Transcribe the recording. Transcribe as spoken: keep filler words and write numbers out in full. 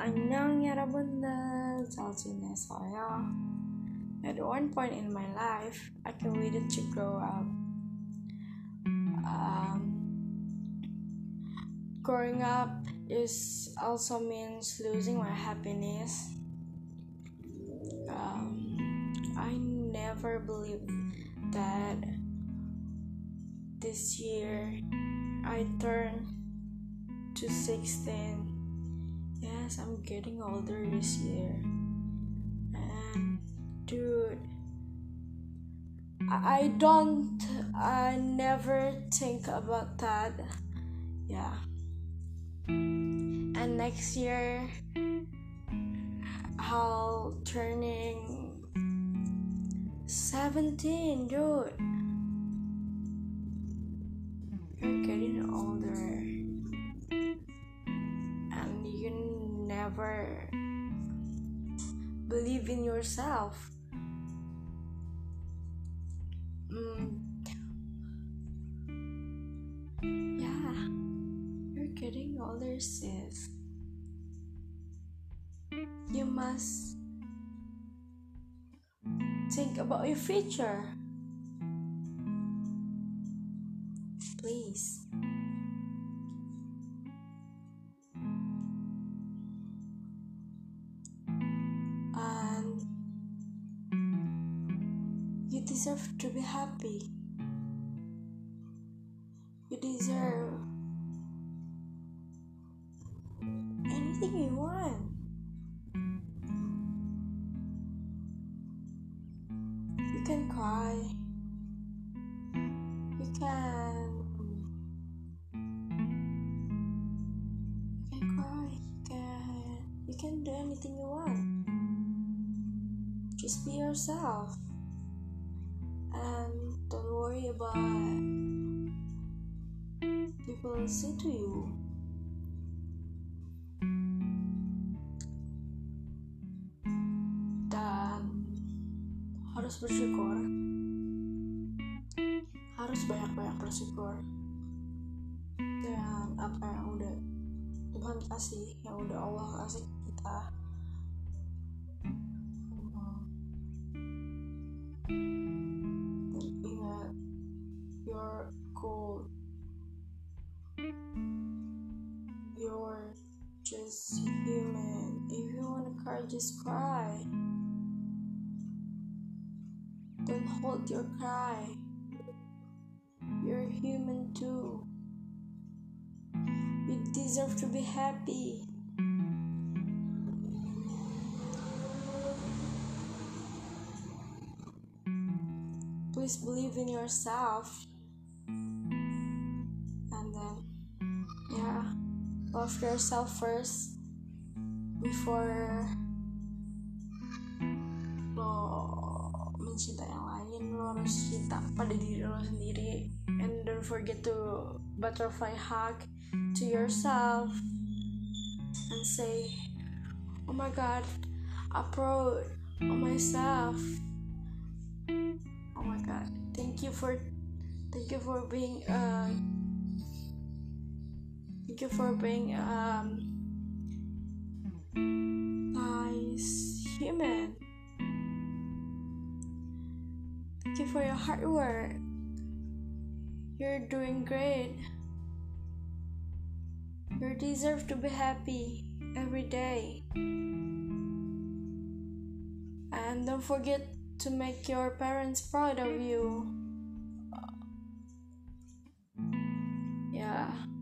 안녕 여러분들, 잘 지내세요? At one point in my life, I can waited to grow up. Um, growing up is also means losing my happiness. Um, I never believed that this year I turned to sixteen. Yes, I'm getting older this year. And dude, I, I don't I never think about that. Yeah. And next year I'll turning seventeen, dude. You're getting older. And you never believe in yourself. Mm. Yeah, you're getting older, sis. You must think about your future. Please. And you deserve to be happy. You deserve anything you want. You can cry. You can You can cry. You can You can do anything you want. Just be yourself. And don't worry about people say to you. Dan harus bersyukur. Harus banyak-banyak bersyukur dengan apa yang udah Tuhan kasih, yang udah Allah kasih ke kita. Dan ingat, you're cool. You're just human. If you wanna cry, just cry. Don't hold your cry. You're human too. You deserve to be happy. Please believe in yourself. And then, yeah, love yourself first before lo mencintai yang lain. Lo harus cinta pada diri lo sendiri. And don't forget to butterfly hug to yourself and say, oh my god, I'm proud of myself. Oh my god, thank you for thank you for being um thank you for being um nice human. Thank you for your hard work. You're doing great. You deserve to be happy every day. And don't forget to make your parents proud of you. Yeah.